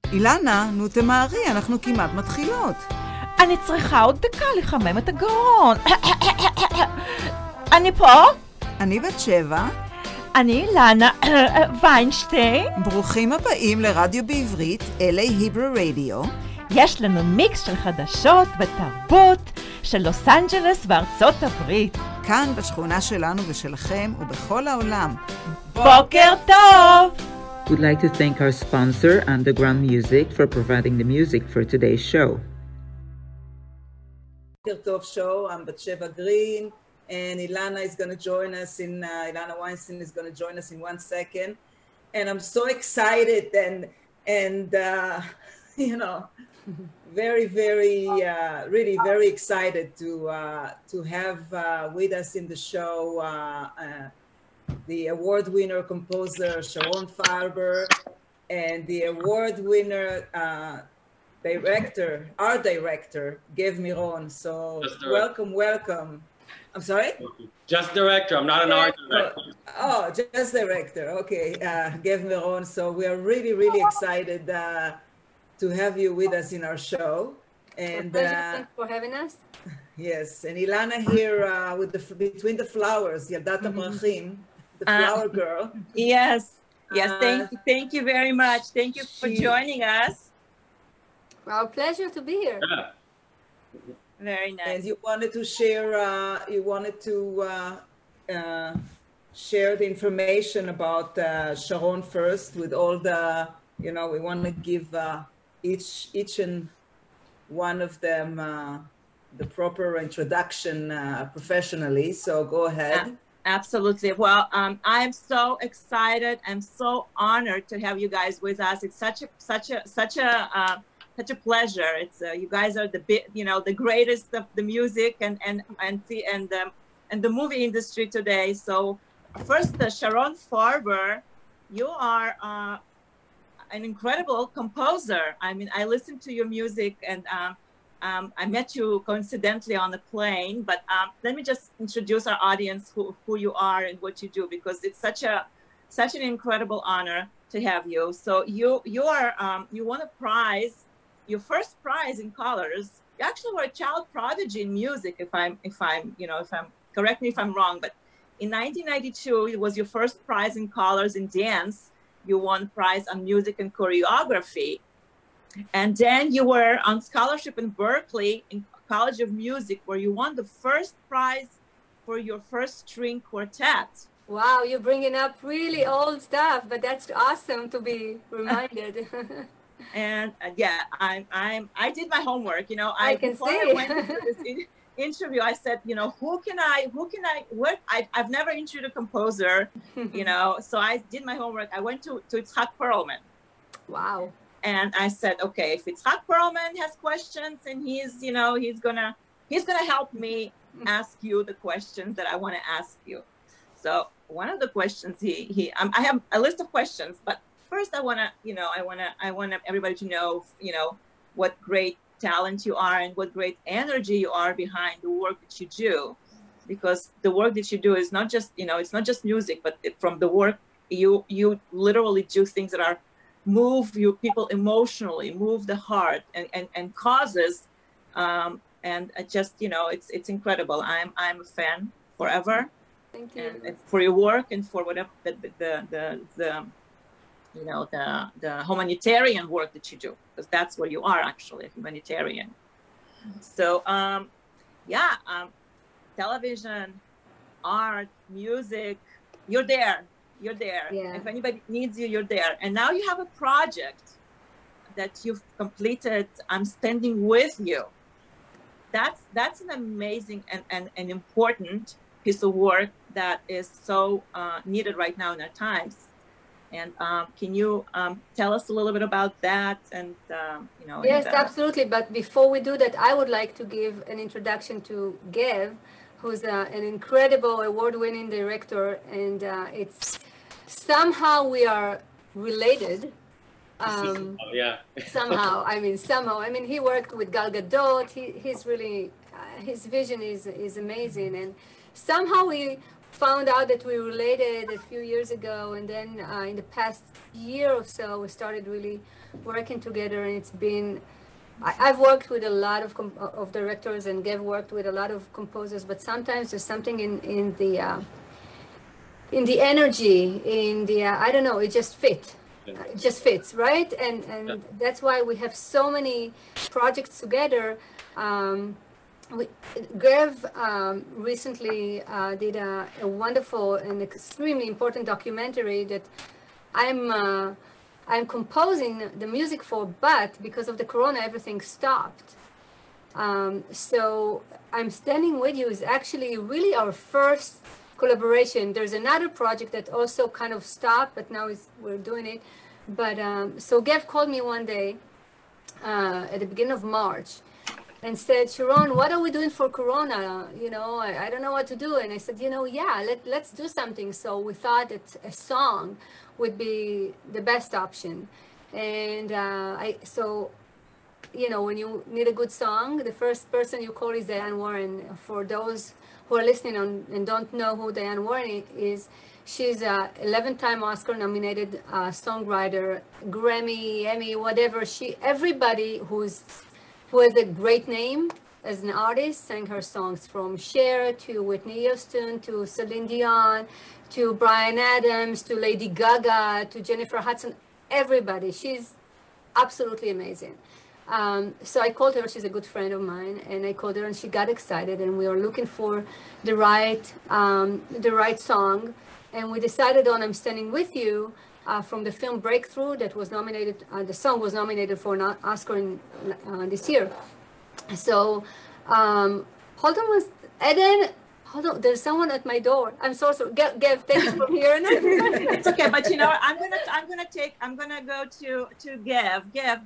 אילנה, נו תמהרי, אנחנו כמעט מתחילות. אני צריכה עוד דקה לחמם את הגרון. אני פה? אני בת 7. אני אילנה ויינשטיין. ברוכים הבאים לרדיו בעברית, LA Hebrew Radio. יש לנו מיקס של חדשות ותרבות של לוס אנג'לס וארצות הברית. כאן בשכונה שלנו ושלכם ובכל העולם. בוקר טוב! We'd like to thank our sponsor, Underground Music, for providing the music for today's show. בוקר טוב show, I'm Batsheva Green, and Ilana is going to join us Ilana Weinstein is going to join us in 1 second. And I'm so excited and you know, very, really very excited to have with us in the show the award winner composer Sharon Farber and the award winner our director, Gev Miron. So welcome. I'm sorry? Just director, I'm not an art director. Oh, just director, okay. Gev Miron. So we are really, really excited to have you with us in our show. And thanks for having us. Yes, and Ilana here with between the flowers, Yaldat HaPrachim, the flower girl. Yes, thank you very much. Thank you for joining us. Our pleasure to be here. Yeah. Very nice. And you wanted to share, share the information about Sharon first with all the, you know, we want to give each and one of them the proper introduction professionally. So go ahead. Absolutely. Well, I'm so excited. I'm so honored to have you guys with us. It's such a pleasure. It's you guys are the greatest of the music and the movie industry today. So first, Sharon Farber, you are an incredible composer. I mean, I listened to your music and I met you coincidentally on the plane, but let me just introduce our audience who you are and what you do, because it's such an incredible honor to have you. So you won a prize, your first prize in Colors. You actually were a child prodigy in music, if I'm correct me if I'm wrong, but in 1992 it was your first prize in Colors in dance. You won prize on music and choreography. And then you were on scholarship in Berkeley in College of Music, where you won the first prize for your first string quartet. Wow, you're bringing up really old stuff, but that's awesome to be reminded. And I did my homework. You know, I can see. I went into this interview, I said, you know, I've never interviewed a composer, you know, so I did my homework. I went to Itzhak Perlman. Wow. And I said, okay, if Itzhak Perlman has questions and he's gonna help me ask you the questions that I want to ask you. So one of the questions I have a list of questions, but first I want everybody to know, you know, what great talent you are and what great energy you are behind the work that you do, because the work that you do is not just, you know, it's not just music, but from the work you literally do things that are move you people emotionally, move the heart and causes, and just, you know, it's incredible. I'm a fan forever. Thank you. And for your work and for whatever the humanitarian work that you do, because that's what you are, actually, a humanitarian. So television, art, music, you're there. Yeah. If anybody needs you, you're there. And now you have a project that you've completed, I'm Standing With You. That's an amazing and an important piece of work that is so needed right now in our times. And can you tell us a little bit about that? And you know. Yes, absolutely. But before we do that, I would like to give an introduction to Gev, who's an incredible award-winning director, and it's somehow we are related. Somehow. I mean, he worked with Gal Gadot. He's really his vision is amazing, and somehow we found out that we related a few years ago, and then in the past year or so, we started really working together, and it's been. I've worked with a lot of directors, and Gav worked with a lot of composers, but sometimes there's something in the energy, in the I don't know, it just fits. It just fits, right? And that's why we have so many projects together. Gav recently did a wonderful and extremely important documentary that I'm composing the music for, but because of the corona, everything stopped. So I'm Standing With You is actually really our first collaboration. There's another project that also kind of stopped, but now we're doing it. But so Gav called me one day at the beginning of March and said, Sharon, what are we doing for corona? You know, I don't know what to do. And I said, you know, yeah, let's do something. So we thought that a song would be the best option. And so, you know, when you need a good song, the first person you call is Diane Warren. For those who are listening and don't know who Diane Warren is, she's a 11-time Oscar nominated songwriter, Grammy, Emmy, whatever. Everybody who has a great name as an artist sang her songs, from Cher to Whitney Houston to Celine Dion to Bryan Adams to Lady Gaga to Jennifer Hudson. Everybody. She's absolutely amazing. So I called her. She's a good friend of mine, and I called her, and she got excited. And we were looking for the right song, and we decided on "I'm Standing With You" from the film Breakthrough that was nominated. The song was nominated for an Oscar this year. So hold on, Eden. Hold on, there's someone at my door. I'm so sorry. Gav, take it from here. It's okay, but you know, I'm gonna go to Gav.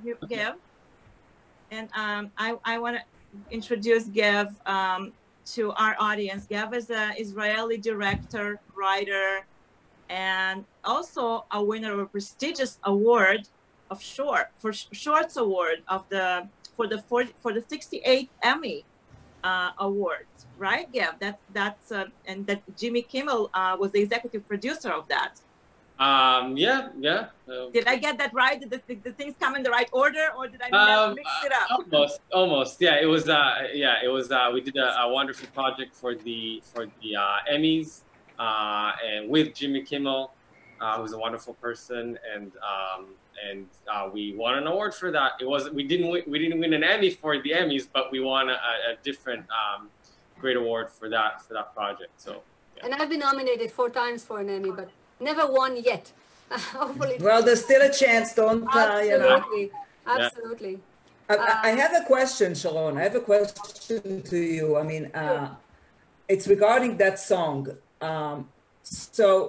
And I want to introduce Gav to our audience. Gav is an Israeli director, writer, and also a winner of a prestigious award of Shorts Award for the 68th Emmy Awards, right, Gav? That's and that Jimmy Kimmel was the executive producer of that. Yeah. Did I get that right? Did the things come in the right order, or did I mix it up? Almost. Yeah, it was. We did a wonderful project for the Emmys, and with Jimmy Kimmel, who's a wonderful person, and we won an award for that. We didn't win an Emmy for the Emmys, but we won a different great award for that project. So. Yeah. And I've been nominated 4 times for an Emmy, but never won yet. Hopefully. Well, there's still a chance. Don't absolutely, absolutely. I have a question, Sharon. I have a question to you. I mean, it's regarding that song. So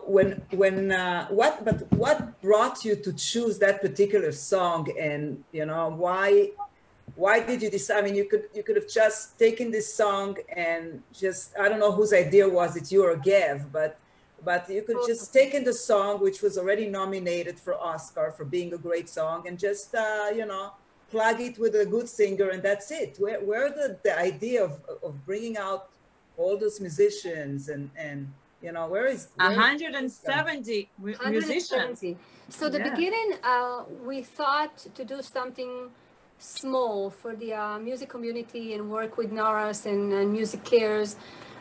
what brought you to choose that particular song, and you know why did you decide? I mean, you could have just taken this song and just, I don't know whose idea was it, you or Gav, but you could just taken the song, which was already nominated for Oscar for being a great song, and just plug it with a good singer, and that's it. Where the idea of bringing out all those musicians and where is 170 musicians? So the beginning, we thought to do something small for the music community and work with NARAS and Music Cares.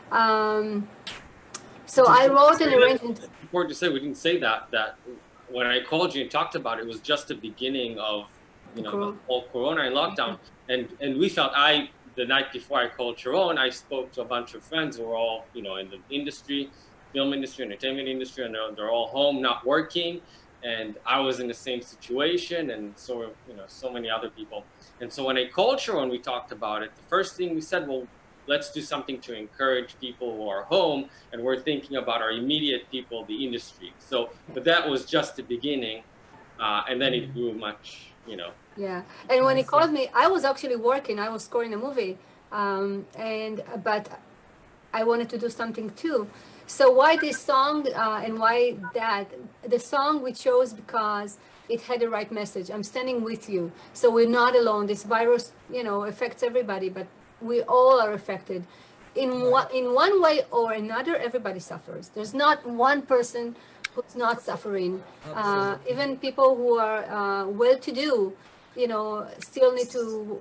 So I wrote an arrangement. Important to say, we didn't say that when I called you and talked about it, it was just the beginning of the whole Corona and lockdown, and we felt the night before I called Sharon, I spoke to a bunch of friends who were all in the industry, film industry, entertainment industry, and they're all home, not working. And I was in the same situation, and so so many other people. And so when I called Sharon, we talked about it. The first thing we said, well, let's do something to encourage people who are home, and we're thinking about our immediate people, the industry. So, but that was just the beginning, and then it grew much, Yeah, and when he called me, I was actually working. I was scoring a movie, but I wanted to do something too. So why this song and why that? The song we chose because it had the right message. I'm standing with you. So we're not alone. This virus, affects everybody, but we all are affected. in one way or another, everybody suffers. There's not one person who's not suffering. Even people who are well-to-do, still need to,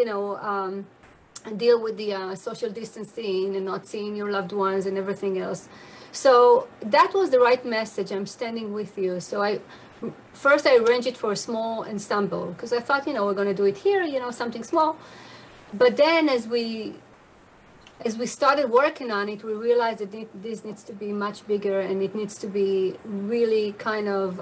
deal with the social distancing and not seeing your loved ones and everything else. So that was the right message. I'm standing with you. So first I arranged it for a small ensemble because I thought, we're going to do it here, something small. But then as we started working on it, we realized that this needs to be much bigger, and it needs to be really kind of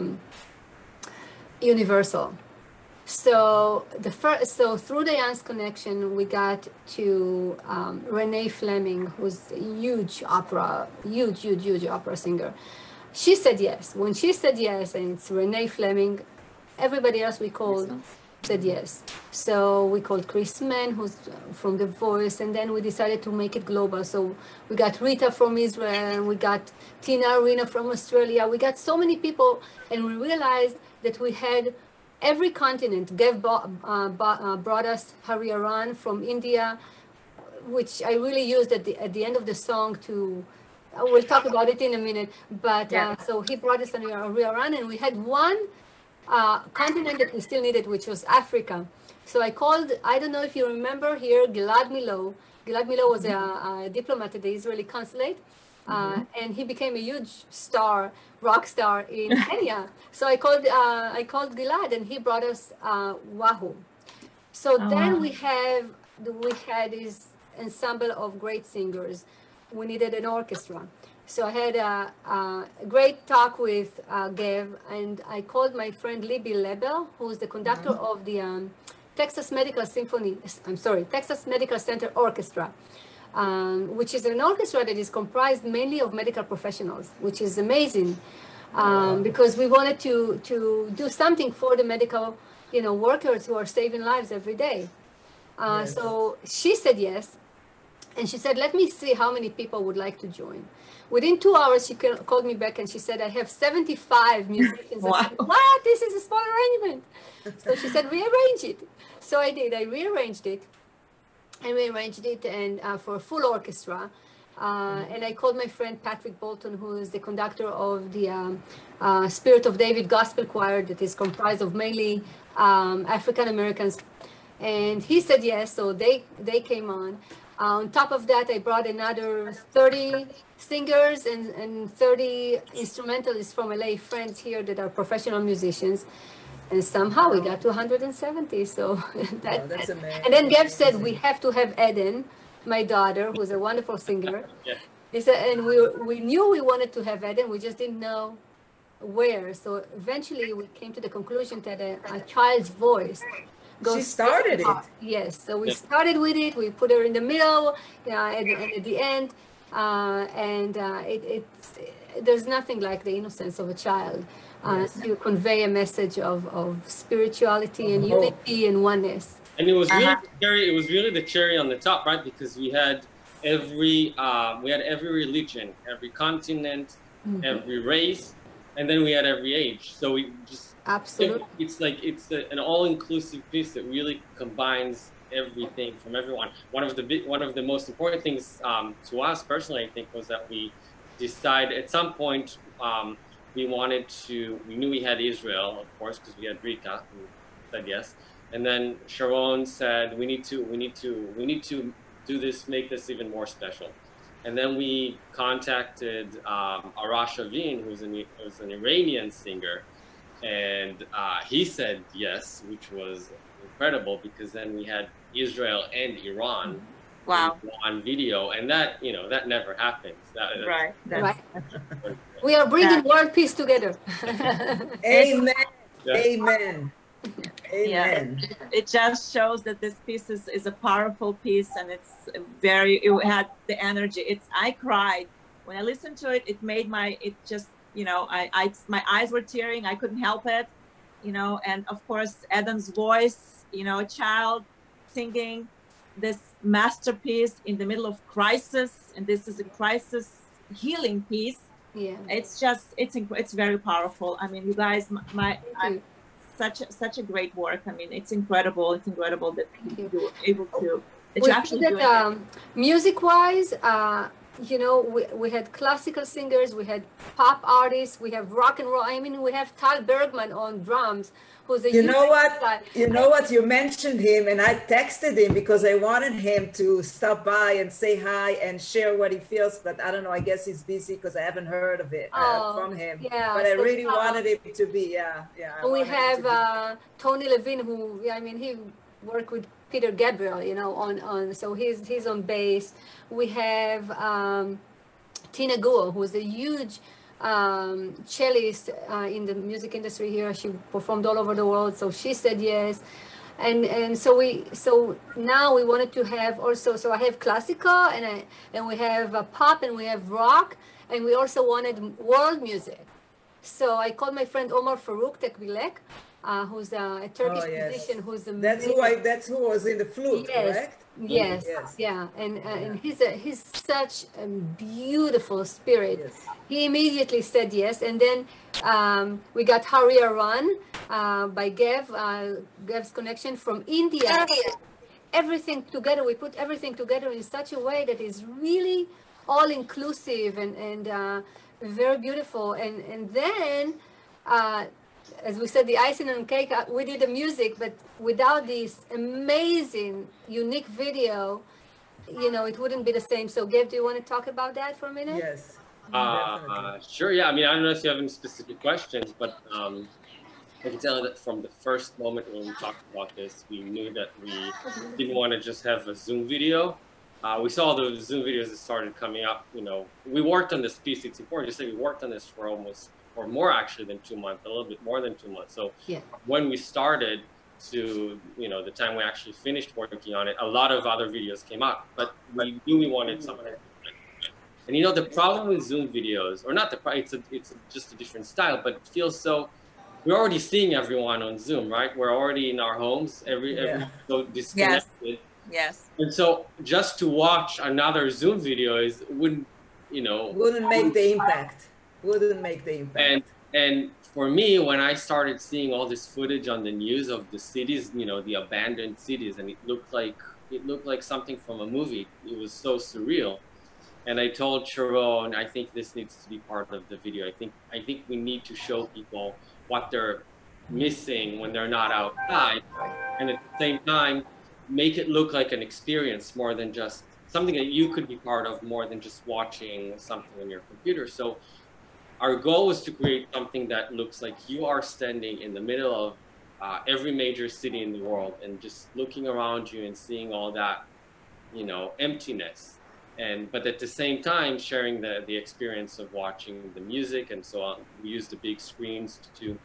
universal. So through the Jan's connection, we got to Renee Fleming, who's a huge opera singer. She said yes. When she said yes, and it's Renee Fleming, everybody else we called said yes. So we called Chris Mann, who's from The Voice, and then we decided to make it global. So we got Rita from Israel, and we got Tina Arena from Australia. We got so many people, and we realized that we had every continent. Gav brought us Hari Aran from India, which I really used at the end of the song to, we'll talk about it in a minute, but so he brought us Hari Aran, and we had one continent that we still needed, which was Africa. So I called, I don't know if you remember here, Gilad Milo. Gilad Milo was a diplomat at the Israeli consulate, and he became a huge star, rock star in Kenya. So I called Gilad, and he brought us Wahoo. So then we had this ensemble of great singers. We needed an orchestra. So I had a great talk with Gav, and I called my friend Libby Lebel, who's the conductor of the Texas Medical Center Orchestra, which is an orchestra that is comprised mainly of medical professionals, which is amazing, because we wanted to do something for the medical, workers who are saving lives every day. So she said yes, and she said, let me see how many people would like to join. Within 2 hours, she called me back and she said, I have 75 musicians. Wow. I said, what? This is a small arrangement. So she said, rearrange it. So I did. I rearranged it. And for a full orchestra. And I called my friend Patrick Bolton, who is the conductor of the Spirit of David Gospel Choir that is comprised of mainly African Americans. And he said yes, so they came on. On top of that, I brought another 30 singers and 30 instrumentalists from LA, friends here that are professional musicians. And somehow we got to 170. So that's amazing. And then Gav said, we have to have Eden, my daughter, who's a wonderful singer. He said, and we knew we wanted to have Eden, we just didn't know where. So eventually we came to the conclusion that a child's voice She started it. Yes, so we started with it. We put her in the middle, and at the end, there's nothing like the innocence of a child to convey a message of spirituality and unity and oneness. And it was really it was really the cherry on the top, right? Because we had every religion, every continent, every race, and then we had every age. So we just absolutely, it's an all-inclusive piece that really combines everything from everyone. One of the most important things to us personally, I think, was that we decided at some point we knew we had Israel, of course, because we had Rita who said yes, and then Sharon said we need to do this, make this even more special. And then we contacted Arash Avin, who's an Iranian singer, and he said yes, which was incredible because then we had Israel and Iran on video, and that never happens. Right. We are bringing world peace together. Amen. Yeah. Amen. Amen. Yeah. It just shows that this piece is a powerful piece, and it had the energy. I cried when I listened to it. It made my eyes were tearing. I couldn't help it, and of course Adam's voice, a child singing this masterpiece in the middle of crisis, and this is a crisis healing piece. Yeah, it's very powerful. I mean, you guys, such a great work. I mean, it's incredible. It's incredible that you were able that you actually do? Music-wise, you know, we had classical singers, we had pop artists, we have rock and roll. I mean, we have Tal Bergman on drums, who's a You know what? guy. You know what? You mentioned him, and I texted him because I wanted him to stop by and say hi and share what he feels. But I don't know. I guess he's busy because I haven't heard of it from him. Yeah, but I really wanted him to be. We have Tony Levine, who I mean, he worked with Peter Gabriel, you know, on so he's on bass. We have Tina Guo, who's a huge cellist in the music industry here. She performed all over the world, so she said yes. And so now we wanted to have also, so I have classical and we have pop and we have rock, and we also wanted world music. So I called my friend Omar Farouk Tekbilek, who's a Turkish musician who's amazing. That's who was in the flute, correct? Yes, yeah, and he's such a beautiful spirit. Yes. He immediately said yes, and then we got Haria Run by Gev's connection from India. Everything together, we put everything together in such a way that is really all inclusive and very beautiful. And then, as we said, the icing on cake, we did the music, but without this amazing, unique video, you know, it wouldn't be the same. So, Gabe, do you want to talk about that for a minute? Yes. Sure, yeah. I mean, I don't know if you have any specific questions, but I can tell you that from the first moment when we talked about this, we knew that we didn't want to just have a Zoom video. We saw the Zoom videos that started coming up. You know, we worked on this piece. It's important to say we worked on this for almost, or more actually than 2 months, a little bit more than 2 months. So when we started to, you know, the time we actually finished working on it, a lot of other videos came out, but we knew we wanted something. And you know, the problem with Zoom videos, or not the problem, it's just a different style, but it feels so, we're already seeing everyone on Zoom, right? We're already in our homes, every so disconnected. Yes. And so just to watch another Zoom video wouldn't make the impact. Wouldn't make the impact. And for me, when I started seeing all this footage on the news of the cities, you know, the abandoned cities, and it looked like something from a movie. It was so surreal. And I told Sharon, I think this needs to be part of the video. I think we need to show people what they're missing when they're not outside, and at the same time, make it look like an experience more than just something that you could be part of, more than just watching something on your computer. So our goal was to create something that looks like you are standing in the middle of every major city in the world and just looking around you and seeing all that, you know, emptiness. But at the same time, sharing the experience of watching the music and so on. We used the big screens to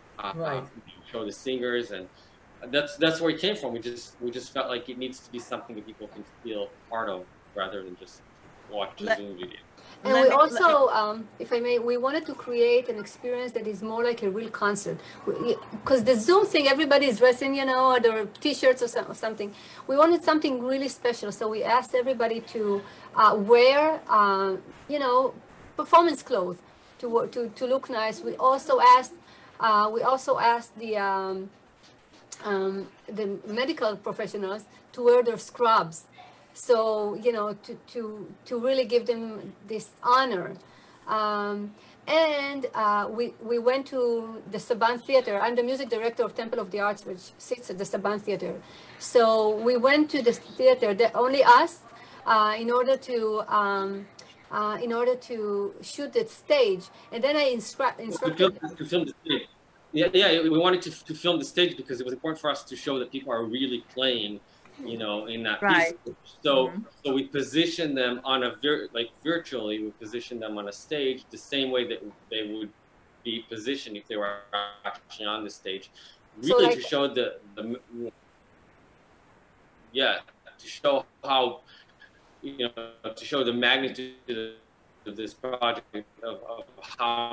show the singers, and that's where it came from. We just felt like it needs to be something that people can feel part of rather than just watch a Zoom video. And we also, if I may, we wanted to create an experience that is more like a real concert. Because the Zoom thing, everybody is dressing, you know, their T-shirts or something. We wanted something really special. So we asked everybody to wear, you know, performance clothes to look nice. We also asked the medical professionals to wear their scrubs. So, you know, to really give them this honor. We went to the Saban Theater. I'm the music director of Temple of the Arts, which sits at the Saban Theater. So we went to the theater, only us, in order to shoot that stage. And then I instructed... To film the stage. Yeah, we wanted to film the stage because it was important for us to show that people are really playing, you know, in that piece. So we position them on virtually, we position them on a stage the same way that they would be positioned if they were actually on the stage. Really, so to show to show how, you know, to show the magnitude of this project, of how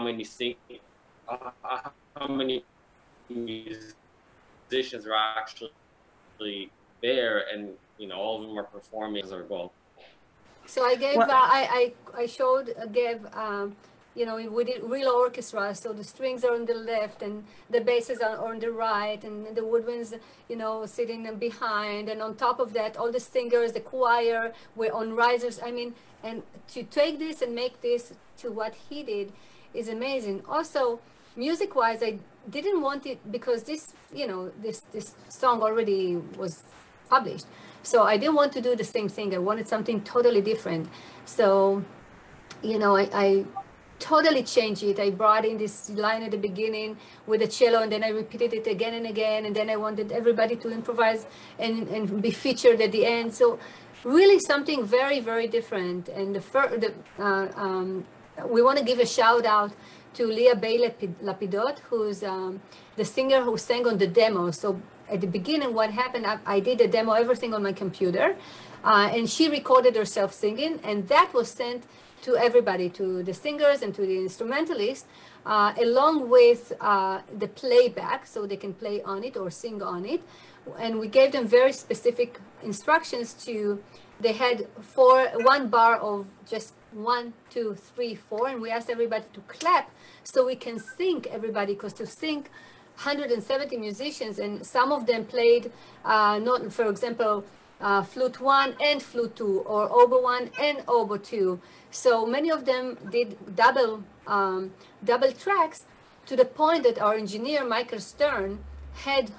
many musicians are actually there, and you know, all of them are performing as our goal. So I gave I showed Gabe you know, we did real orchestra, so the strings are on the left and the basses are on the right, and the woodwinds, you know, sitting behind, and on top of that, all the singers, the choir were on risers. I mean, and to take this and make this to what he did is amazing. Also, music-wise, I didn't want it because this, you know, this song already was published, so I didn't want to do the same thing. I wanted something totally different. So, you know, I totally changed it. I brought in this line at the beginning with the cello, and then I repeated it again and again, and then I wanted everybody to improvise and be featured at the end. So really something very, very different. And we want to give a shout out to Leah Bay Lapidot, who's the singer who sang on the demo. So at the beginning, what happened, I did a demo, everything on my computer, and she recorded herself singing, and that was sent to everybody, to the singers and to the instrumentalists, along with the playback, so they can play on it or sing on it. And we gave them very specific instructions they had one bar of just 1, 2, 3, 4, and we asked everybody to clap so we can sync everybody, because to sync 170 musicians, and some of them played, for example, flute 1 and flute 2, or oboe 1 and oboe 2. So many of them did double tracks, to the point that our engineer, Michael Stern, had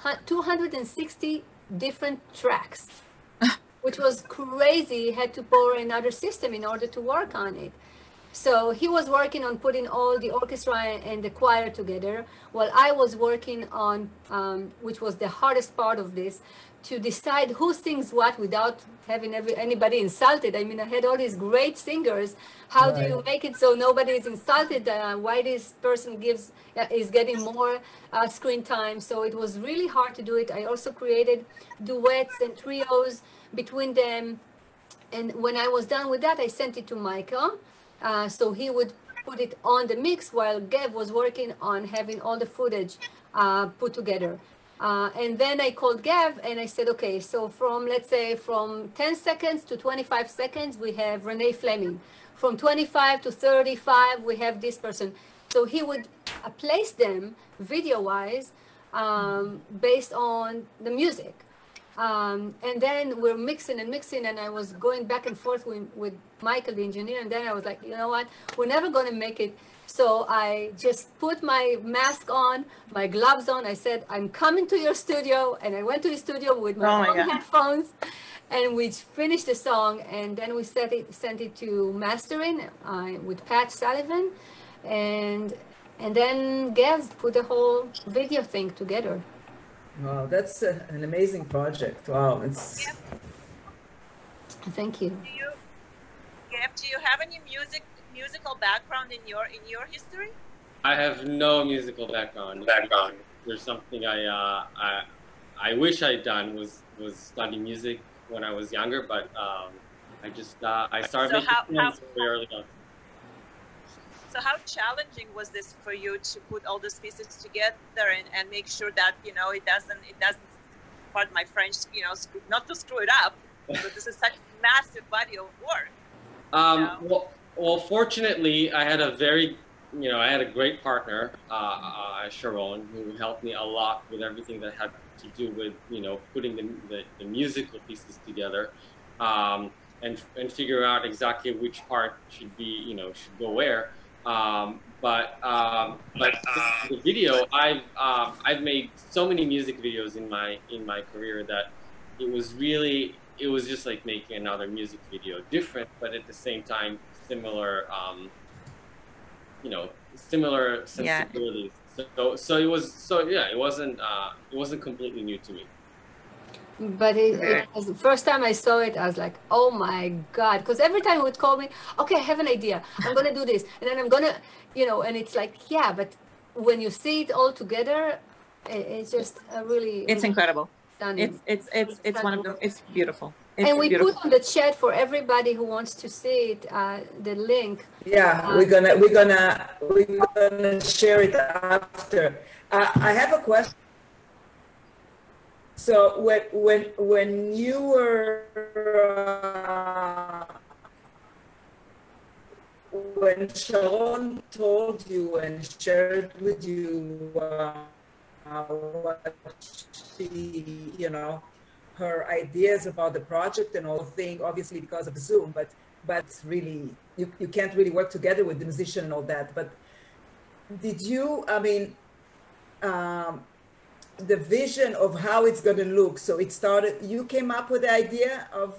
260 different tracks, which was crazy. He had to borrow another system in order to work on it. So he was working on putting all the orchestra and the choir together, while I was working on, which was the hardest part of this, to decide who sings what without having anybody insulted. I mean, I had all these great singers. How do you make it so nobody is insulted? Why this person is getting more screen time? So it was really hard to do it. I also created duets and trios between them. And when I was done with that, I sent it to Michael. So he would put it on the mix, while Gav was working on having all the footage put together. And then I called Gav and I said, okay, so let's say from 10 seconds to 25 seconds, we have Renee Fleming. From 25 to 35, we have this person. So he would place them video-wise based on the music. And then we're mixing, and I was going back and forth with Michael, the engineer, and then I was like, you know what, we're never going to make it. So I just put my mask on, my gloves on. I said, I'm coming to your studio. And I went to his studio with my own headphones, and we finished the song. And then we sent it to mastering with Pat Sullivan. And then Gav put the whole video thing together. Wow, that's an amazing project. Wow, it's. Thank you. Gav, do you have any musical background in your history? I have no musical background. There's something I wish I'd done was study music when I was younger, but I started making films very early on. So how challenging was this for you to put all those pieces together and make sure that, you know, it doesn't, pardon my French, you know, not to screw it up, but this is such a massive body of work. Well, fortunately, I had a great partner, Sharon, who helped me a lot with everything that had to do with, you know, putting the musical pieces together, and figure out exactly which part should go where. But the video, I've made so many music videos in my career that it was just like making another music video, different, but at the same time similar, similar sensibilities. Yeah. So it wasn't completely new to me. But it was the first time I saw it, I was like, oh my God. Because every time he would call me, okay, I have an idea. I'm going to do this. And then I'm going to, you know, and it's like, yeah, but when you see it all together, it's just really. It's incredible. Stunning. It's one of them. It's beautiful. And we put on the chat for everybody who wants to see it, the link. Yeah, we're gonna share it after. I have a question. So when you were when Sharon told you and shared with you what she, you know, her ideas about the project and all thing, obviously because of Zoom, but really, you can't really work together with the musician and all that. But did you, I mean, the vision of how it's going to look, so it started, you came up with the idea of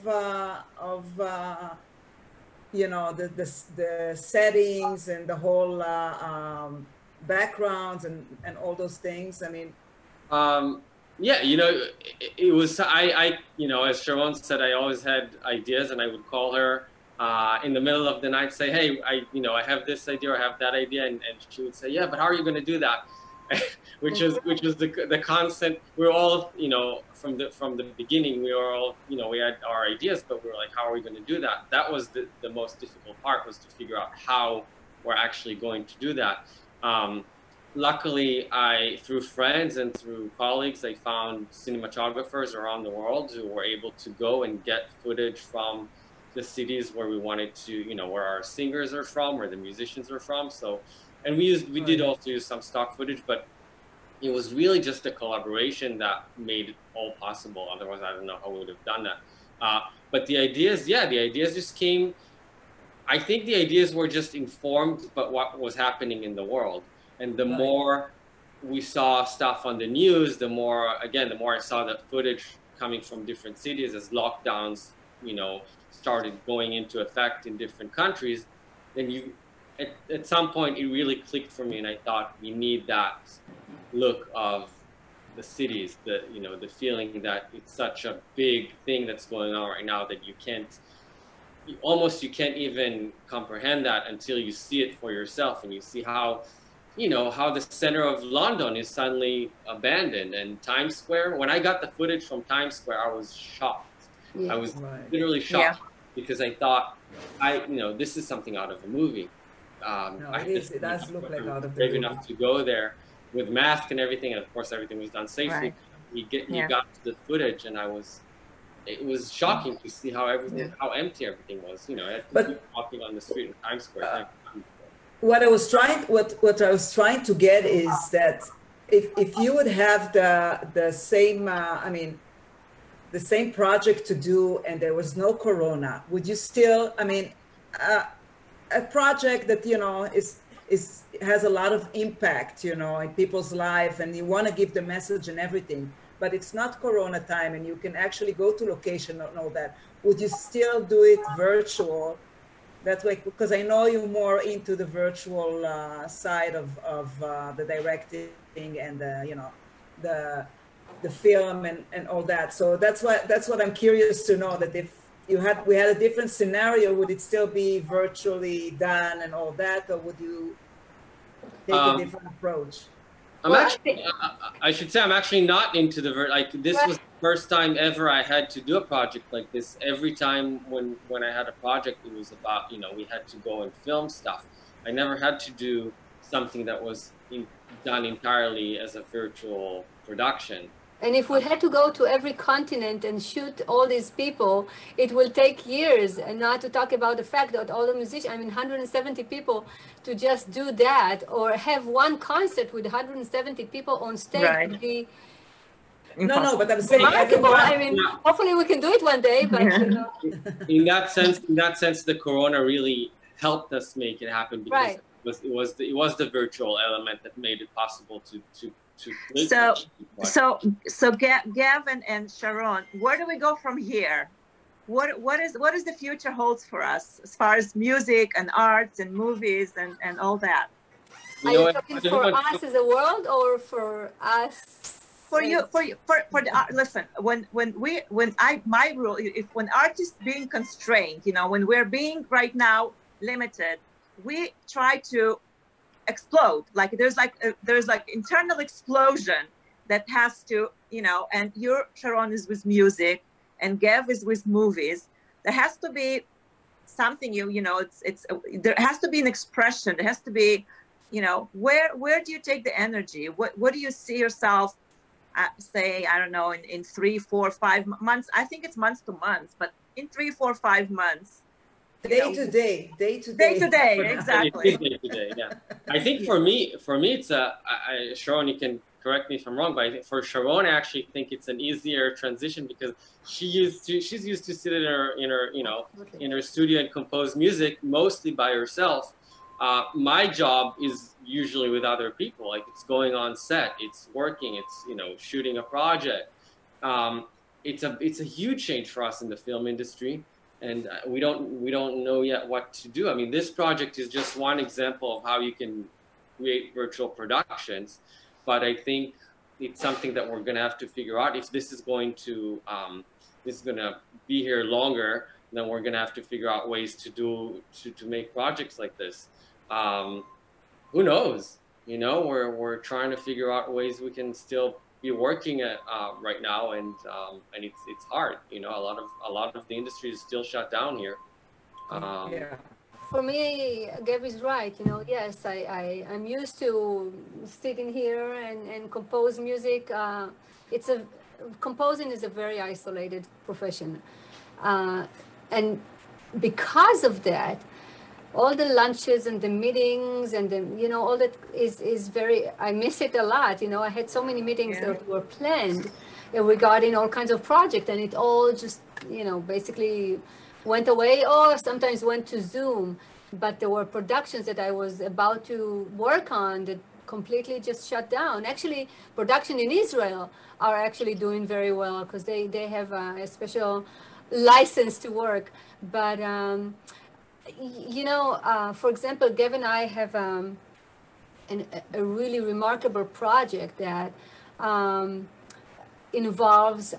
you know, the settings and the whole backgrounds and all those things. I mean, yeah, you know, it was, I, you know, as Sharon said, I always had ideas, and I would call her in the middle of the night, say, hey, you know, I have this idea or I have that idea, and she would say, yeah, but how are you going to do that? which was the constant. We're all, you know, from the beginning, we were all, you know, we had our ideas, but we were like, how are we going to do that? That was the most difficult part, was to figure out how we're actually going to do that. Luckily, through friends and through colleagues, I found cinematographers around the world who were able to go and get footage from the cities where we wanted to, you know, where our singers are from, where the musicians are from. So, and we did also use some stock footage, but it was really just a collaboration that made it all possible. Otherwise, I don't know how we would have done that. But the ideas, yeah, the ideas just came. I think the ideas were just informed by what was happening in the world. And the more we saw stuff on the news, the more I saw that footage coming from different cities as lockdowns, you know, started going into effect in different countries. Then at some point, it really clicked for me, and I thought, we need that look of the cities, you know, the feeling that it's such a big thing that's going on right now that you can't even comprehend that until you see it for yourself, and you see how, you know, how the center of London is suddenly abandoned. And Times Square, when I got the footage from Times Square, I was shocked. Yeah. I was literally shocked, because I thought, you know, this is something out of a movie. No, it does look like out of the movie. Brave enough to go there with mask and everything, and of course everything was done safely. Right. You got the footage, and it was shocking to see how empty everything was. You know, walking on the street in Times Square. What I was trying to get is that if you would have the same I mean, the same project to do, and there was no corona, would you still, I mean, a project that, you know, has a lot of impact, you know, in people's life, and you want to give the message and everything, but it's not corona time, and you can actually go to location and all that, would you still do it virtual? That way, because I know you're more into the virtual side of the directing and you know, the film and all that. So that's what I'm curious to know, that if we had a different scenario, would it still be virtually done and all that, or would you take a different approach? I should say I'm actually not into this was the first time ever I had to do a project like this. Every time when I had a project, it was about, you know, we had to go and film stuff. I never had to do something that was done entirely as a virtual production. And if we had to go to every continent and shoot all these people, it will take years, and not to talk about the fact that all the musicians, I mean, 170 people, to just do that, or have one concert with 170 people on stage would be no, but I'm saying remarkable. I mean, hopefully we can do it one day, but you know. In that sense, the corona really helped us make it happen, because it was the virtual element that made it possible to So Gavin and Sharon, where do we go from here? What is the future holds for us as far as music and arts and movies and all that? Are you talking for us as a world, or for us? For the art. Listen, when art is being constrained, you know, when we're being right now limited, we try to explode. Like there's like internal explosion that has to, you know, and Sharon is with music and Gav is with movies. There has to be something, you know, there has to be an expression. There has to be, you know, where do you take the energy? What do you see yourself say, I don't know, in 3, 4, 5 months? I think it's months to months, but in 3, 4, 5 months, Day to day. Day to day, exactly. It is day to day, yeah. I think for me, it's Sharon, you can correct me if I'm wrong, but I think for Sharon, I actually think it's an easier transition because she's used to sit in her studio and compose music mostly by herself. My job is usually with other people, like it's going on set, it's working, it's shooting a project. It's a huge change for us in the film industry. And we don't know yet what to do. I mean, this project is just one example of how you can create virtual productions, but I think it's something that we're going to have to figure out. If this is going to be here longer, then we're going to have to figure out ways to make projects like this. Who knows? We're trying to figure out ways we can still be working at right now, and it's hard. A lot of the industry is still shut down here. Yeah. For me, Gav is right. Yes, I'm used to sitting here and compose music. Composing is a very isolated profession, and because of that, all the lunches and the meetings and all that is very, I miss it a lot. I had so many meetings that were planned regarding all kinds of projects, and it all just, basically went away, or sometimes went to Zoom. But there were productions that I was about to work on that completely just shut down. Actually, production in Israel are actually doing very well because they have a special license to work. But for example, Gav and I have a really remarkable project that involves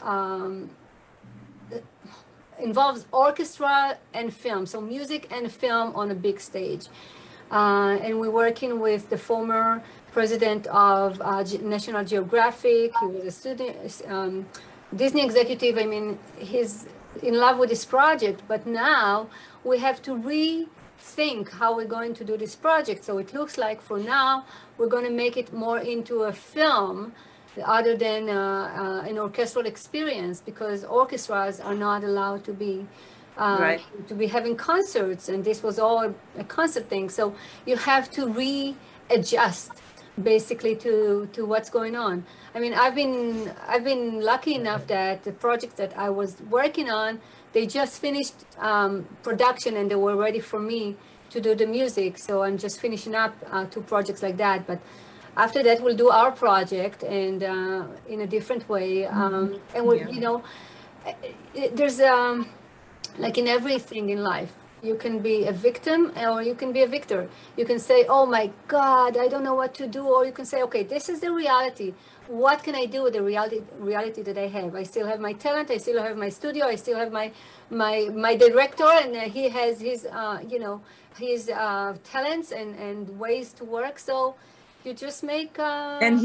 orchestra and film, so music and film on a big stage. And we're working with the former president of National Geographic. He was a student, Disney executive. I mean, he's in love with this project, but now we have to rethink how we're going to do this project. So it looks like for now, we're going to make it more into a film other than an orchestral experience, because orchestras are not allowed to be having concerts, and this was all a concert thing. So you have to readjust basically to what's going on. I mean, I've been lucky enough that the projects that I was working on, they just finished production and they were ready for me to do the music. So I'm just finishing up 2 projects like that. But after that, we'll do our project, and in a different way. And we'll, there's like in everything in life, you can be a victim or you can be a victor. You can say, oh my God, I don't know what to do. Or you can say, okay, this is the reality. What can I do with the reality that I have? I still have my talent. I still have my studio. I still have my director, and he has his, his talents and ways to work. So you just make and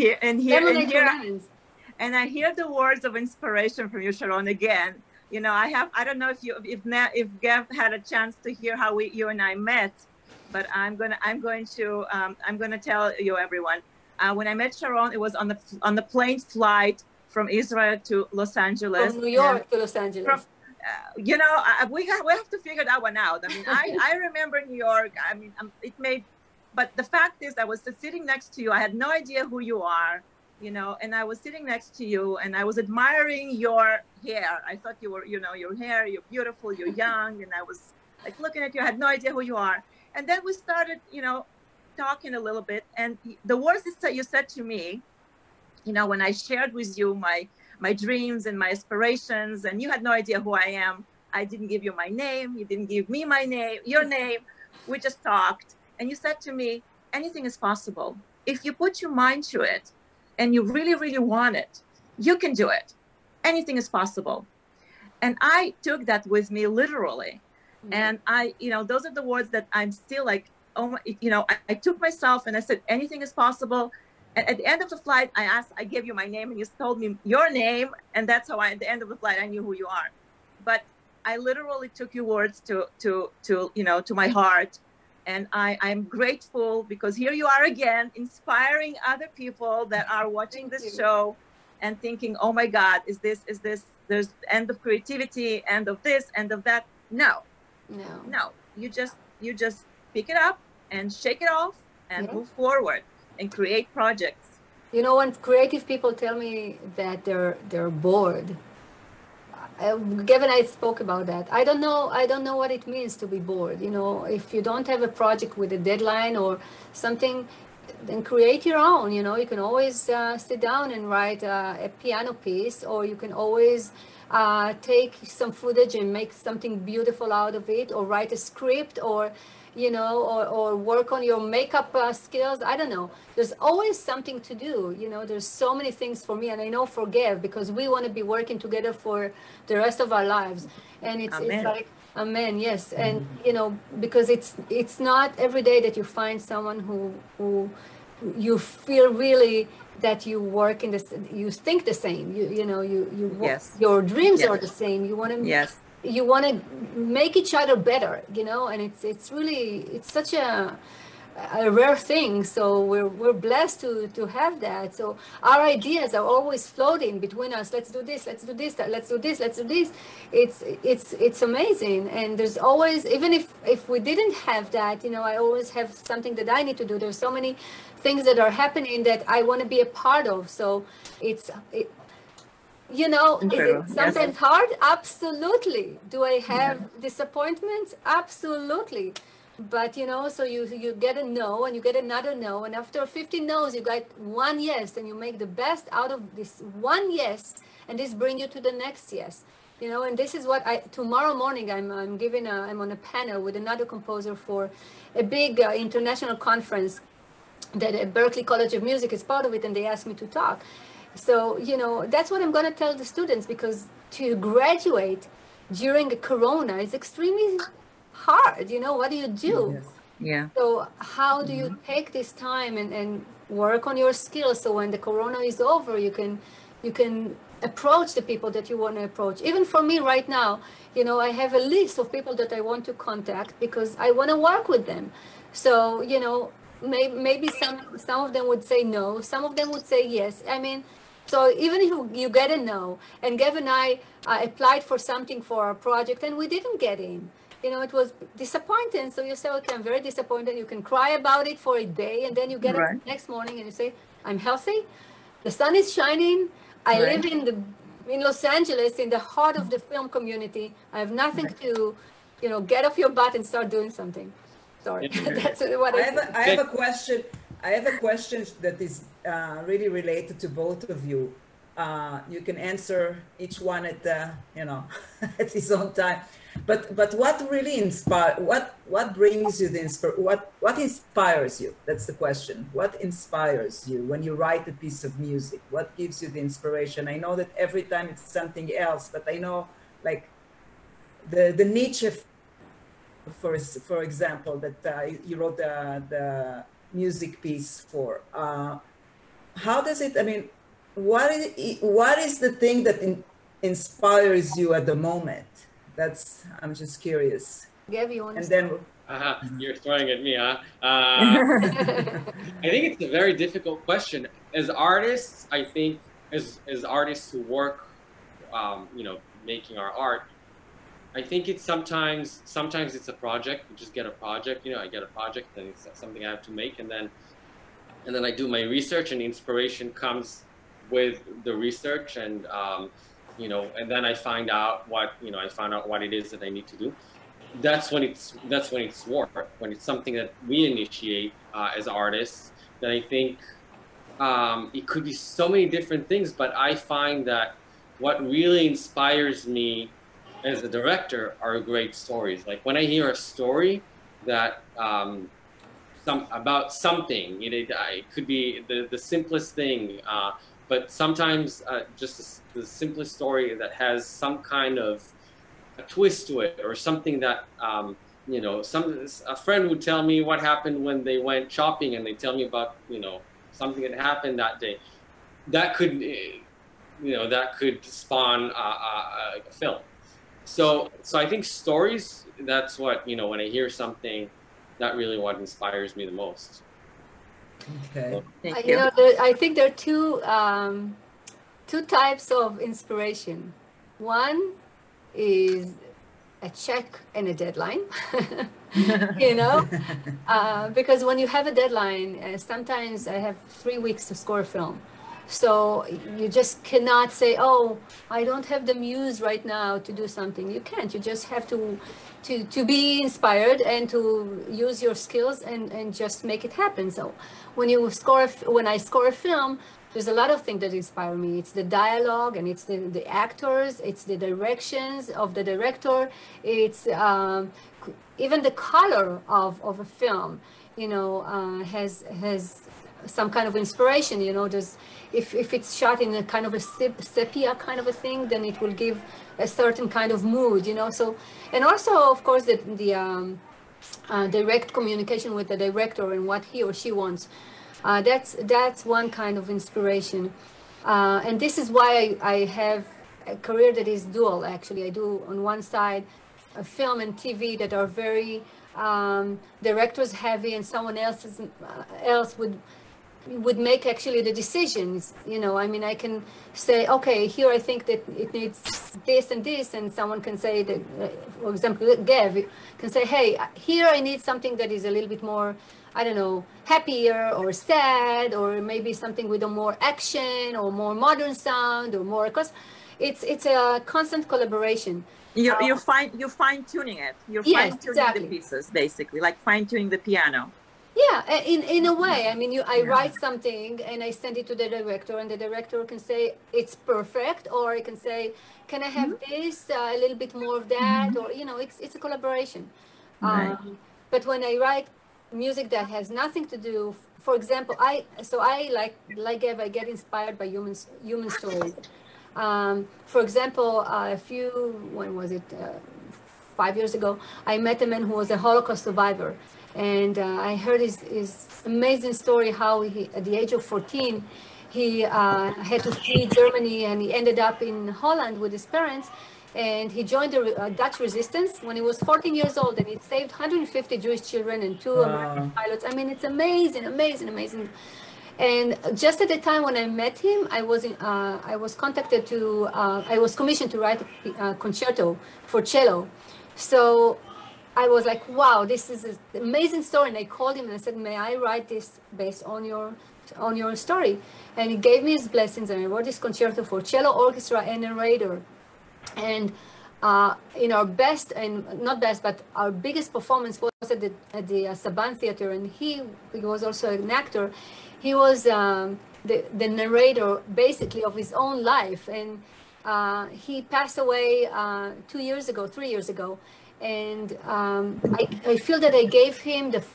I hear the words of inspiration from you, Sharon, again. I don't know if Gav had a chance to hear how you and I met, but I'm going to tell you, everyone. When I met Sharon, it was on the plane flight from Israel to Los Angeles. From New York to Los Angeles. We have to figure that one out. I mean, I remember New York. I mean, but the fact is, I was sitting next to you. I had no idea who you are, and I was sitting next to you, and I was admiring your hair. I thought you were, your hair, you're beautiful, you're young, and I was like looking at you. I had no idea who you are. And then we started, talking a little bit, and the words that you said to me, when I shared with you my dreams and my aspirations, and you had no idea who I am. I didn't give you my name. You didn't give me your name. We just talked. And you said to me, anything is possible. If you put your mind to it and you really, really want it, you can do it. Anything is possible. And I took that with me literally. Mm-hmm. And those are the words that I'm still like, I took myself and I said, anything is possible. And at the end of the flight, I gave you my name, and you told me your name. And that's how at the end of the flight, I knew who you are. But I literally took your words to my heart. And I'm grateful because here you are again, inspiring other people that are watching this show and thinking, oh my God, is this, there's end of creativity, end of this, end of that. No. you just pick it up and shake it off and move forward and create projects. You know, when creative people tell me that they're bored, Gav and I spoke about that. I don't know what it means to be bored. You know, if you don't have a project with a deadline or something, then create your own. You know, you can always sit down and write a piano piece, or you can always take some footage and make something beautiful out of it, or write a script, or you know, or work on your makeup skills. I don't know. There's always something to do. You know, there's so many things for me, and I know for Gav, because we want to be working together for the rest of our lives. And it's like, amen, yes. And, you know, because it's not every day that you find someone who you feel really that you work in this, you think the same, you know, your dreams are the same. You want to, you want to make each other better, you know, and it's really, it's such a rare thing. So we're blessed to have that. So our ideas are always floating between us. Let's do this, let's do this, let's do this, let's do this. It's amazing. And there's always, even if we didn't have that, you know, I always have something that I need to do. There's so many things that are happening that I want to be a part of. So you know, is it sometimes hard? Absolutely. Do I have disappointments? Absolutely. But, you know, so you get a no and you get another no. And after 50 no's, you got one yes, and you make the best out of this one yes. And this brings you to the next yes. You know, and this is what tomorrow morning, I'm on a panel with another composer for a big international conference that Berklee College of Music is part of it. And they asked me to talk. So, you know, that's what I'm going to tell the students, because to graduate during a corona is extremely hard. You know, what do you do? So how do you take this time and work on your skills, so when the corona is over, you can approach the people that you want to approach. Even for me right now, you know, I have a list of people that I want to contact because I want to work with them. So, you know, maybe some of them would say no, some of them would say yes. I mean, so even if you get a no, and Gav and I applied for something for our project and we didn't get in, you know, it was disappointing. So you say, okay, I'm very disappointed. You can cry about it for a day, and then you get up the next morning and you say, I'm healthy. The sun is shining. I live in Los Angeles, in the heart of the film community. I have nothing to, you know, get off your butt and start doing something. Sorry, that's what I have a question. I have a question that is really related to both of you. You can answer each one at you know, at his own time. But what really what brings you what inspires you? That's the question. What inspires you when you write a piece of music? What gives you the inspiration? I know that every time it's something else, but I know, like, the Nietzsche, for example, that you wrote the music piece for. How does it, I mean, what is the thing that inspires you at the moment? I'm just curious. Gav, you want to you're throwing at me, huh? I think it's a very difficult question. As artists, I think, as artists who work, you know, making our art, I think it's sometimes it's a project. You just get a project, you know, I get a project and it's something I have to make, and then I do my research, and the inspiration comes with the research, and you know, and then I find out what it is that I need to do. That's when it's work, when it's something that we initiate as artists. Then I think it could be so many different things, but I find that what really inspires me as a director are great stories. Like when I hear a story that about something, it could be the simplest thing, but sometimes just the simplest story that has some kind of a twist to it, or something that you know, a friend would tell me what happened when they went shopping, and they tell me about, you know, something that happened that day. That could, you know, that could spawn a film. So I think stories, that's what, you know, when I hear something, that really what inspires me the most. Okay. Thank you. You know, I think there are two types of inspiration. One is a check and a deadline, you know, because when you have a deadline, sometimes I have 3 weeks to score a film. So you just cannot say, oh, I don't have the muse right now to do something. You can't. You just have to be inspired and to use your skills and just make it happen. So when I score a film, there's a lot of things that inspire me. It's the dialogue, and it's the actors, it's the directions of the director, it's even the color of a film, you know, has some kind of inspiration, you know. There's if it's shot in a kind of a sepia kind of a thing, then it will give a certain kind of mood, you know. So, and also of course the direct communication with the director and what he or she wants. That's one kind of inspiration, and this is why I have a career that is dual. Actually, I do on one side a film and TV that are very directors heavy, and someone else would make actually the decisions. You know, I mean, I can say, okay, here I think that it needs this and this, and someone can say that, for example, Gav can say, hey, here I need something that is a little bit more, I don't know, happier or sad, or maybe something with a more action or more modern sound or more, because it's a constant collaboration. You're fine tuning it. You're yes, fine tuning exactly. the pieces, basically, like fine tuning the piano. Yeah, in a way. I mean, I write something and I send it to the director, and the director can say it's perfect, or I can say, can I have this, a little bit more of that, or, you know, it's a collaboration. Right. But when I write music that has nothing to do, for example, I like Gav, I get inspired by human stories. For example, when was it? 5 years ago, I met a man who was a Holocaust survivor. And I heard his amazing story, how he, at the age of 14, he had to flee Germany, and he ended up in Holland with his parents. And he joined the Dutch resistance when he was 14 years old, and he saved 150 Jewish children and 2 American pilots. I mean, it's amazing, amazing, amazing. And just at the time when I met him, I was contacted to, I was commissioned to write a concerto for cello. So I was like, wow, this is an amazing story. And I called him and I said, may I write this based on your story? And he gave me his blessings, and I wrote this concerto for cello, orchestra, and narrator. And in our best, and not best, but our biggest performance was at the Saban Theater, and he was also an actor. He was the narrator, basically, of his own life. And he passed away 3 years ago. And I feel that I gave him the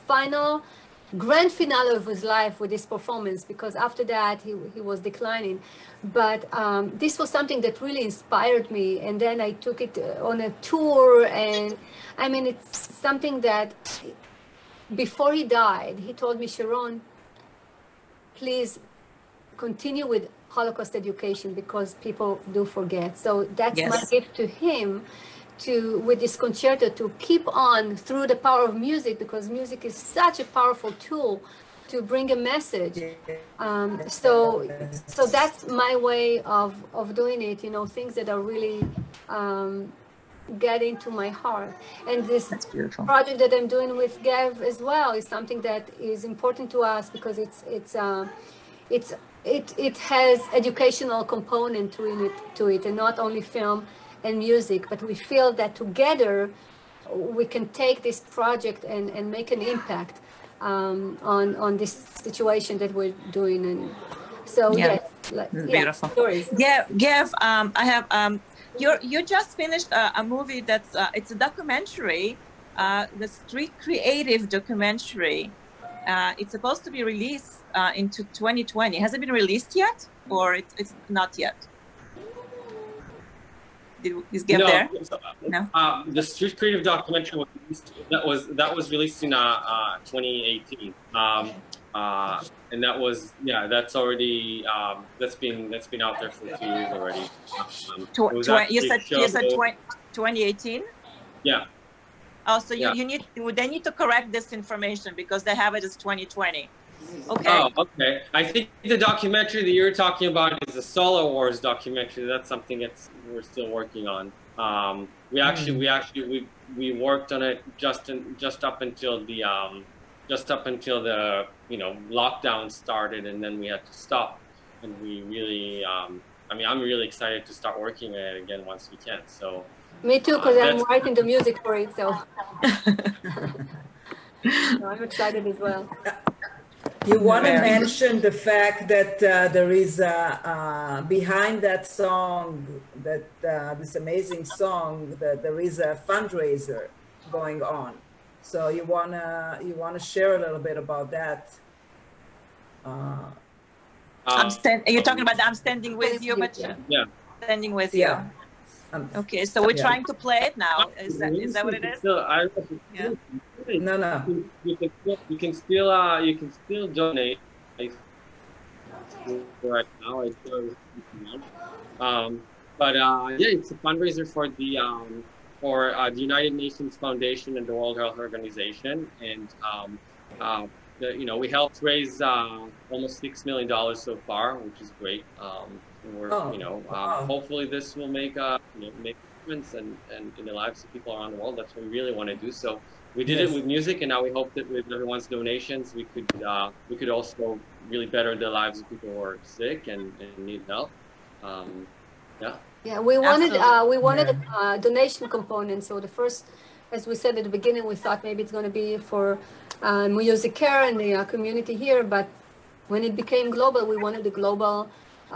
grand finale of his life with this performance, because after that he was declining. But this was something that really inspired me, and then I took it on a tour. And I mean, it's something that before he died, he told me, Sharon, please continue with Holocaust education, because people do forget. So that's my gift to him, with this concerto, to keep on through the power of music, because music is such a powerful tool to bring a message. So that's my way of doing it, you know, things that are really get into my heart. And this project that I'm doing with Gav as well is something that is important to us, because it has educational component to it, and not only film and music, but we feel that together we can take this project and make an impact on this situation that we're doing. And so beautiful. Stories. Gav, I have you just finished a movie that's it's a documentary, the Street Creative documentary. It's supposed to be released into 2020. Has it been released yet, or it's not yet? Is Gav there? No. The Street Creative documentary was released in 2018, and that's already that's been out there for 2 years already. You said 2018. Yeah. Oh, so they need to correct this information, because they have it as 2020. Okay. Oh, okay. I think the documentary that you're talking about is the Solar Wars documentary. That's something we're still working on. We worked on it just up until the lockdown started, and then we had to stop. And we really, I'm really excited to start working on it again once we can. So. Me too, because I'm writing the music for it, so. I'm excited as well. You want to mention the fact that there is behind that song, this amazing song, that there is a fundraiser going on. So you wanna share a little bit about that. You're talking about I'm Standing With You, but yeah, Standing With You. Yeah. Okay, so we're trying to play it now. Is that what it is? No. You can still donate right now. It's a fundraiser for the United Nations Foundation and the World Health Organization, and we helped raise almost $6 million so far, which is great. Hopefully this will make a difference and in the lives of people around the world. That's what we really want to do. So we did it with music, and now we hope that with everyone's donations, we could also really better the lives of people who are sick and need help. Yeah, we wanted a donation component. So the first, as we said at the beginning, we thought maybe it's going to be for Music Care and the community here, but when it became global, we wanted a global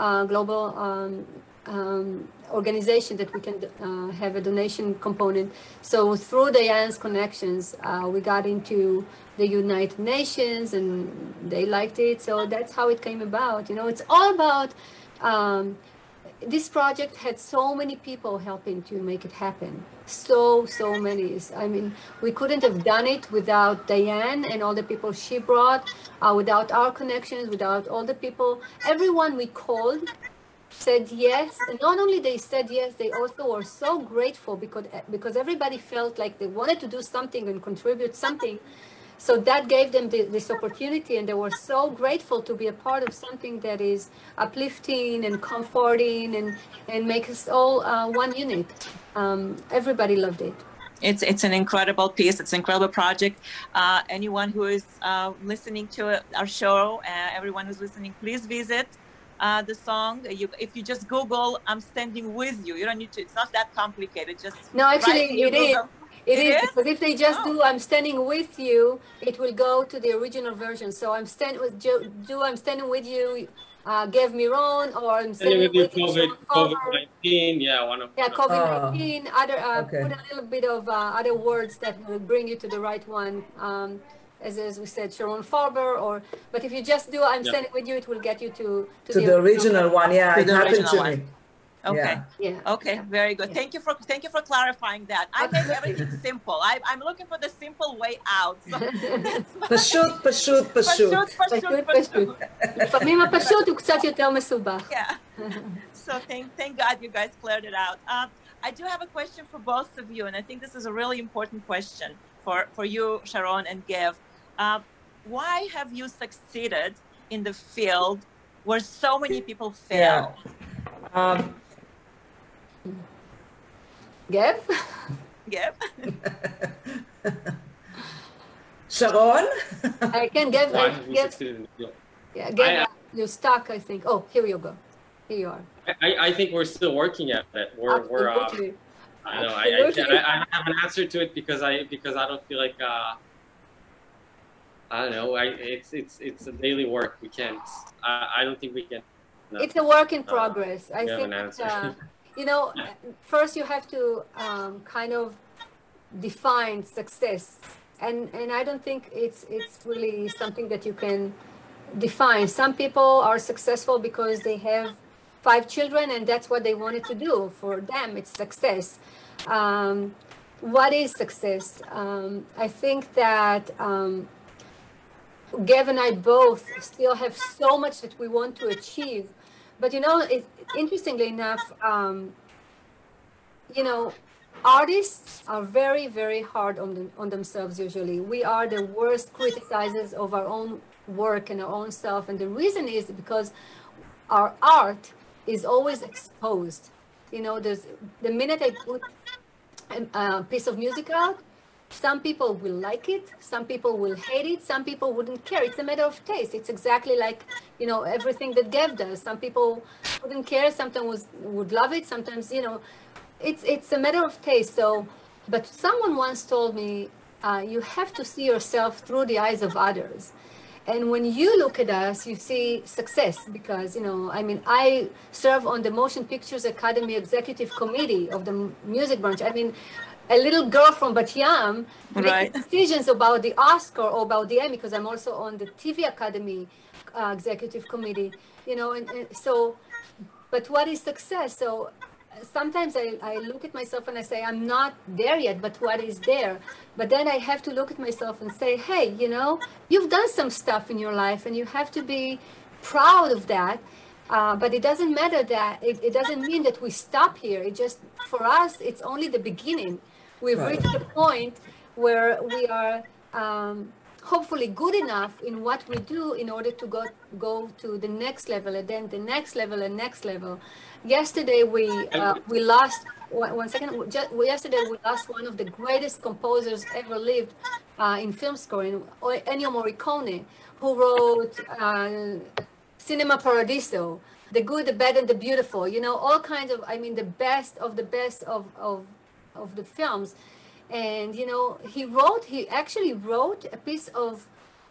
organization that we can have a donation component. So through Diane's connections, we got into the United Nations, and they liked it. So that's how it came about. It's all about this project had so many people helping to make it happen. So many. I mean, we couldn't have done it without Diane and all the people she brought, without our connections, without all the people. Everyone we called said yes, and not only they said yes, they also were so grateful because everybody felt like they wanted to do something and contribute something. So that gave them this opportunity, and they were so grateful to be a part of something that is uplifting and comforting and make us all one unit. Everybody loved it. It's an incredible piece. It's an incredible project. Anyone who is listening to our show, everyone who's listening, please visit the song. If you just Google "I'm Standing With You," you don't need to. It's not that complicated. No, actually, it is. It is, because if they just do "I'm Standing With You," it will go to the original version. So I'm standing with "I'm Standing With You," Gev Miron, or I'm standing with you, COVID-19. COVID-19. Put a little bit of other words that will bring you to the right one. As we said, Sharon Farber, but if you just do "I'm Standing With You," it will get you to the original one. Yeah, it happened to me. Okay. Yeah. Okay. Very good. Thank you for clarifying that. I make everything simple. I'm looking for the simple way out. פשוט. לפעמים הפשוט הוא קצת יותר מסובך. Yeah. So thank God you guys cleared it out. I do have a question for both of you, and I think this is a really important question for you, Sharon and Gev. Why have you succeeded in the field where so many people fail? Gev? Sharon? I can Gev. Gev, you're stuck, I think. Oh, here you go. Here you are. I think we're still working at it. I don't have an answer to it because I don't feel like I don't know. It's a daily work. We can't. I don't think we can. No. It's a work in progress. I think first you have to kind of define success, and I don't think it's really something that you can define. Some people are successful because they have 5 children and that's what they wanted to do. For them, it's success. What is success? I think that Gev and I both still have so much that we want to achieve. But interestingly enough, artists are very, very hard on themselves usually. We are the worst criticizers of our own work and our own self. And the reason is because our art is always exposed. You know, there's the minute I put a piece of music out, some people will like it, some people will hate it, some people wouldn't care. It's a matter of taste. It's exactly like, you know, everything that Gav does. Some people wouldn't care, sometimes would love it, sometimes, you know, it's a matter of taste. So, but someone once told me, you have to see yourself through the eyes of others. And when you look at us, you see success because, you know, I mean, I serve on the Motion Pictures Academy Executive Committee of the music branch. I mean, a little girl from Bat Yam making decisions about the Oscar or about the Emmy, because I'm also on the TV Academy Executive Committee, you know, and so, but what is success? So sometimes I look at myself and I say, I'm not there yet, but what is there? But then I have to look at myself and say, hey, you know, you've done some stuff in your life and you have to be proud of that. But it doesn't matter that, it doesn't mean that we stop here. It just, for us, it's only the beginning. We've reached a point where we are hopefully good enough in what we do in order to go to the next level, and then the next level and next level. Yesterday we lost yesterday we lost one of the greatest composers ever lived in film scoring, Ennio Morricone, who wrote Cinema Paradiso, The Good, the Bad, and the Beautiful. You know, all kinds of, I mean, the best of the best of the films. And you know, he actually wrote a piece of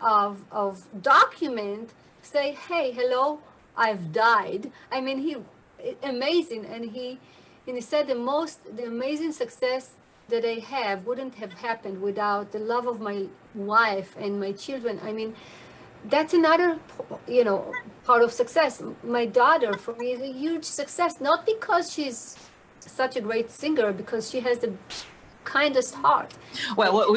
document, say, hey, hello, I've died. I mean, amazing. And he said the amazing success that I have wouldn't have happened without the love of my wife and my children. I mean, that's another, you know, part of success. My daughter, for me, is a huge success, not because she's such a great singer, because she has the kindest heart. Well,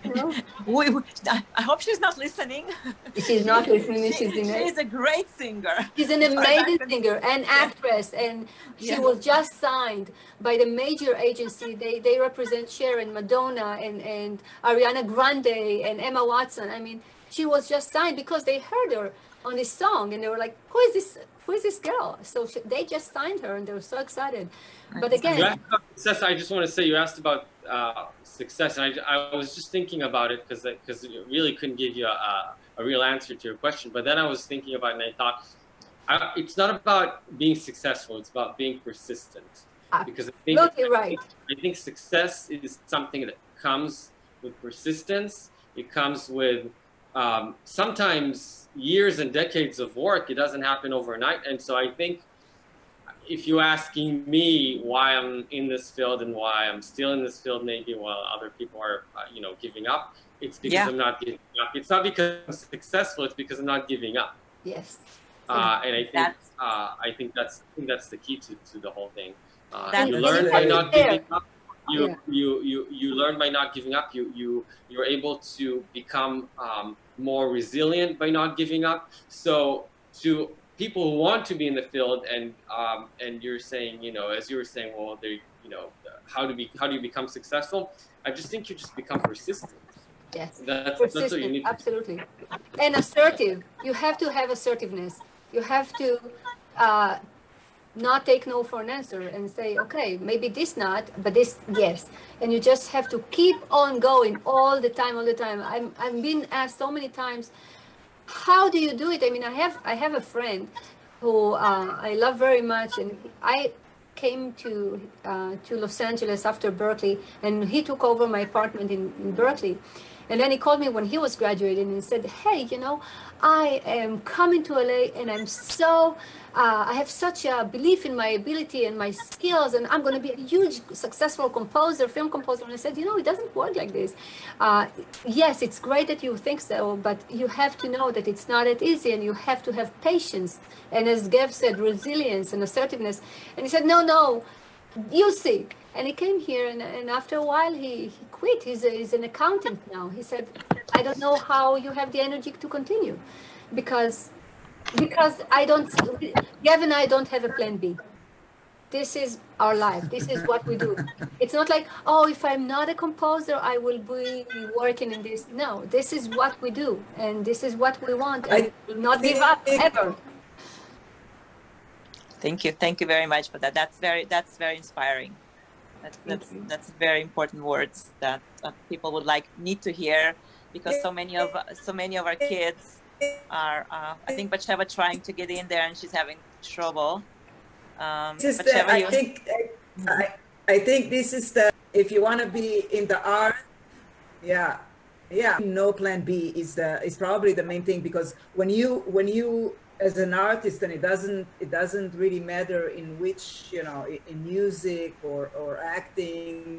I hope she's not listening. She's not listening. She's a great singer. She's an amazing singer and actress, and she was just signed by the major agency. They represent Cher and Madonna and Ariana Grande and Emma Watson. I mean, she was just signed because they heard her on this song and they were like, who is this girl? So they just signed her and they were so excited. But again, you asked about success. I just want to say you asked about success, and I was just thinking about it because it really couldn't give you a real answer to your question. But then I was thinking about it and I thought, it's not about being successful, it's about being persistent. Because I think success is something that comes with persistence. It comes with sometimes years and decades of work. It doesn't happen overnight. And so I think if you're asking me why I'm in this field and why I'm still in this field, maybe while other people are, you know, giving up, it's because I'm not giving up. It's not because I'm successful. It's because I'm not giving up. Yes. And I think that's the key to the whole thing. You learn by not giving up. You learn by not giving up. You're able to become more resilient by not giving up. So to people who want to be in the field, and you're saying, you know, as you were saying, well, they, you know, how do you become successful? I just think you just become persistent. Yes, that's persistent, what you need. Absolutely, and assertive. You have to have assertiveness. You have to not take no for an answer and say, okay, maybe this not, but this yes. And you just have to keep on going all the time. I've been asked so many times, how do you do it? I mean, I have a friend who I love very much, and I came to Los Angeles after Berkeley, and he took over my apartment in Berkeley. And then he called me when he was graduating and said, hey, you know, I am coming to LA and I'm so, I have such a belief in my ability and my skills, and I'm going to be a huge successful composer, film composer. And I said, you know, it doesn't work like this. Yes, it's great that you think so, but you have to know that it's not that easy, and you have to have patience. And as Gav said, resilience and assertiveness. And he said, no, you'll see. And he came here, and after a while, he quit. He's an accountant now. He said, I don't know how you have the energy to continue, because Gav and I don't have a plan B. this is our life. This is what we do. It's not like, oh, if I'm not a composer, I will be working in this. No, this is what we do, and this is what we want, and we will not give up ever. Thank you very much for that. That's very inspiring. That's very important words that people would need to hear, because so many of our kids are. I think Batsheva trying to get in there, and she's having trouble. I think this is if you want to be in the art, yeah, no plan B is probably the main thing, because when you as an artist, and it doesn't really matter in which, in music or acting.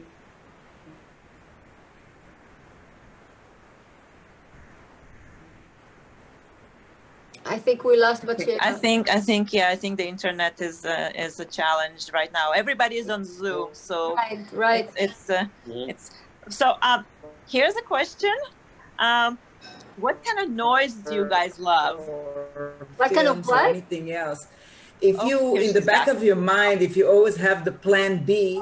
I think we lost Batsheva. I think the internet is a challenge right now. Everybody is on Zoom, so right. It's so. Here's a question. What kind of noise do you guys love? What kind of what? Anything else? If you, in the back of your mind, if you always have the plan B.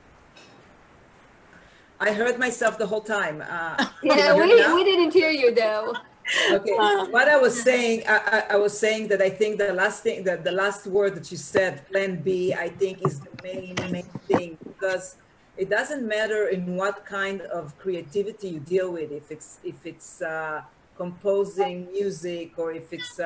I heard myself the whole time. Yeah, we didn't hear you though. Okay, what I was saying, I was saying that I think the last word that you said, plan B, I think is the main thing, because it doesn't matter in what kind of creativity you deal with, if it's composing music, or if it's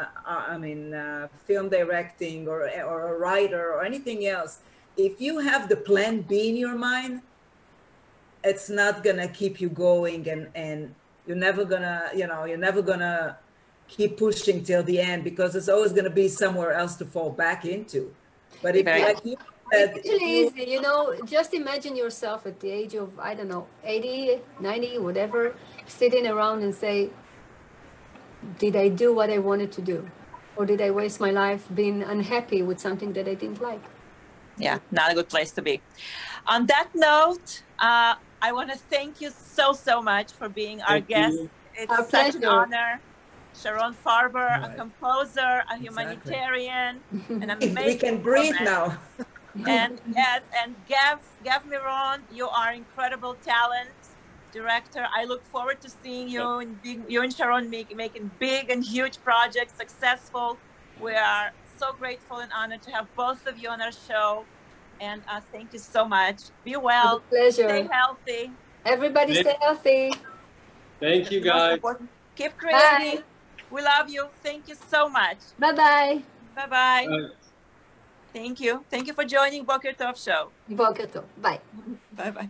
film directing, or a writer, or anything else. If you have the plan B in your mind, it's not gonna keep you going, and you're never gonna keep pushing till the end, because there's always gonna be somewhere else to fall back into. But if it's actually easy, just imagine yourself at the age of, I don't know, 80, 90, whatever, sitting around and say, did I do what I wanted to do? Or did I waste my life being unhappy with something that I didn't like? Yeah, not a good place to be. On that note, I want to thank you so much for being our guest. It's such an honor. Sharon Farber, a composer, a humanitarian, an amazing we can breathe now. And yes, and Gav Miron, you are incredible talent, director. I look forward to seeing you and Sharon making big and huge projects, successful. We are so grateful and honored to have both of you on our show. And thank you so much. Be well. Pleasure. Stay healthy. Everybody stay healthy. Thank you, guys. Keep creating. Bye. We love you. Thank you so much. Bye-bye. Bye-bye. Thank you. Thank you for joining Boker Tov Show. Boker Tov. Bye. Bye-bye.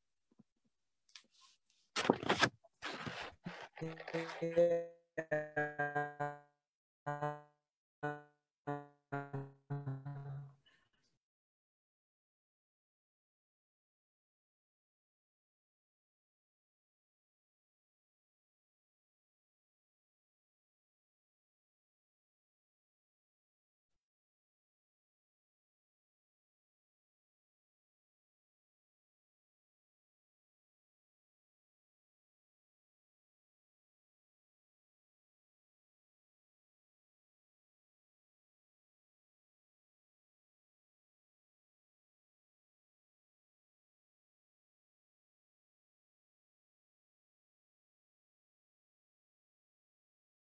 Yeah.